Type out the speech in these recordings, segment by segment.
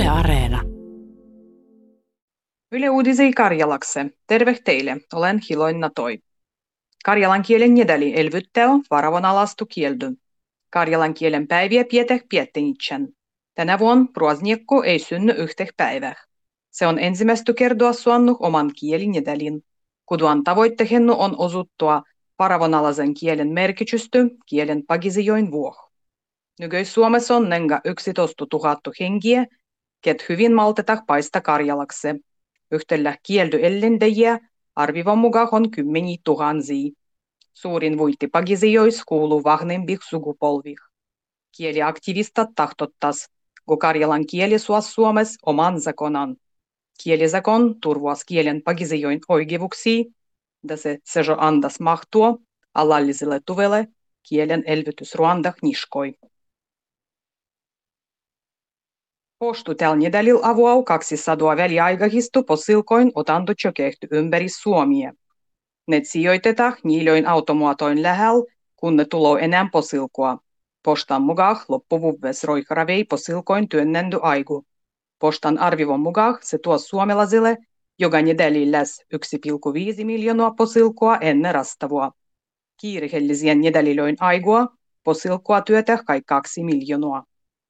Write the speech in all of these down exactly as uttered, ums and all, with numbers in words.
Yle Areena. Yle Uudisei Karjalakse. Terve teille, olen Hiloinna Toi. Karjalan kielen niedäli elvyttäo varavon alastu kieldy. Karjalan kielen päiviä pieteh piettenitsen. Tänä vuonna ruosniekko ei synny yhteh päivää. Se on ensimmäistä kertoa suonnu oman kielin niedälin. Kuduan tavoittehennu on osuttua varavonalaisen kielen merkitysty kielen pagisijoin vuoh. Nykyis Suomessa on nenga yksitoista tuhatta henkiä, ket hyvin maltetah paista Karjalakse. Yhtellä kieldy ellendejiä arvivan mukaan on kymmeni tuhansia. Suurin vuitti pagisijois kuuluu vahnempih sukupolvih. Kieliaktivistat tahtottas, kun Karjalan kieli suos Suomes oman zakonan. Kielisakon turvuas kielen pagisijoin oikeuksia, da se sejo andas mahtua alalliselle tuvelle kielen elvytysruandah niskoi. Poštu tällä nedälil avuau kaksisataa väliaikahistu posilkoin otanto kehty ympäri Suomia. Ne sijoitetaan niilöin automuotoin lähellä, kun ne tuloo enää posilkoa. Postan mukaan loppuvuves roikravei posilkoin työnnendy aigu. Postan arvivon mukaan se tuo suomalaisille joka nedälil läs yksi pilkku viisi miljoonaa posilkoa ennen rastavua. Kiirehellisien nedälilöin aigua posilkoa työtä kai kaksi miljoonaa.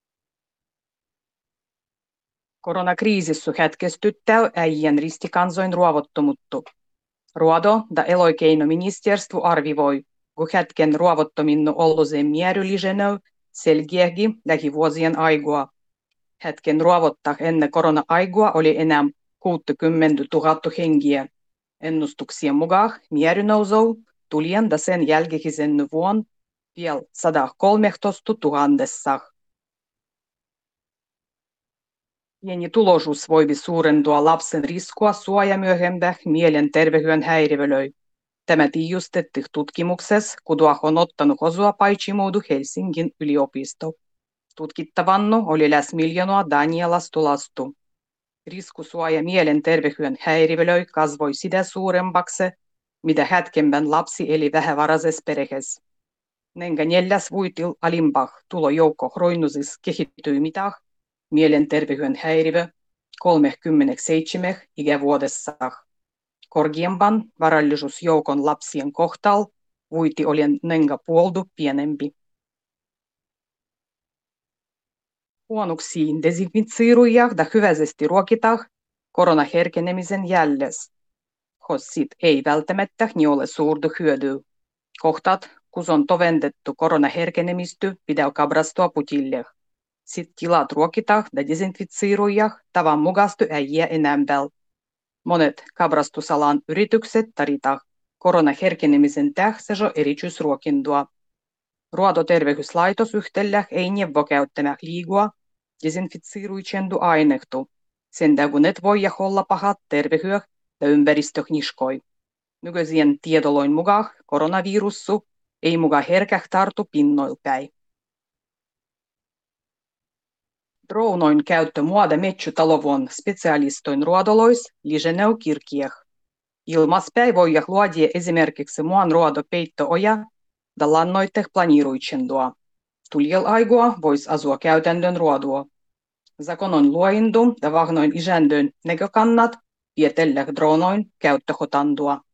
Koronakriisissu hetkestyttää äijän ristikansoin ruovottomuttu. Ruodo da eloikeinoministeriö arvivoi, kun hetken ruovottominnu olluseen mieryllisenö selgiähgi lähivuosien aigua. Hetken ruovottaa ennen korona-aigua oli enää kuusikymmentätuhatta hengiä. Ennustuksien mukaan mierynousou tulien da sen jälkeisenny vuon vielä sata kolmetoista tuhannessa. Pieni tuloisuus voi suurentua lapsen riskua suojamyöhempää mielenterveyden häiriölöi. Tämä tiijustettiin tutkimuksessa, kun on ottanut osua Paitsimuudu Helsingin yliopisto. Tutkittavannu oli läs miljoonaa Danielastu lastu. Risku suoja mielenterveyden häiriölöi kasvoi sitä suuremmaksi, mitä hetkempän lapsi eli vähävaraisessa perheessä. Nenga neljäs vuitil alimpah tulojoukko roinusis kehittyi mitah, mielenterveyden häiriö kolmekymmentäseitsemän ikävuodessa. Korkeampan varallisuusjoukon lapsien kohtal vuiti oli nenga puoldu pienempi. Huonuksiin desinfitsiirujah da hyväisesti ruokitah koronaherkenemisen jälles. Hossit ei välttämättä ni ole suurdu hyödyä. Kohtat, kun on tovendettu koronaherkenemisty, pitää kabrastua putille. Sit tilat ruokitah da desinfitsiirujah tavan mukastu äijä enämpel. Monet kabrastusalan yritykset taritah koronaherkenemisen tähsejo erityisruokindua. Ruodoterveyslaitos yhtellä ei neuvo käyttämään liigua desinfitsiiruitsendu ainehtu. Sen tägunet voi olla pahat terveyhyöh ja ympäristöhniskoi. Nykyisien tiedoloin mukaan koronavirussu ei mukaan herkäh tartu pinnoilpäin. Dronoin käyttö muoda metsytalovuon specialistoin ruodolois liseneu kirkieh. Ilmaspäin voi luodia esimerkiksi muan ruodo peittooja da lannoitteh planiiruitsendua. Tuljel aigua vois asua käytännön ruodua. Zakonon luoindu da vahnoin isändön näkökannat vietelleh dronoin käyttöhotandua.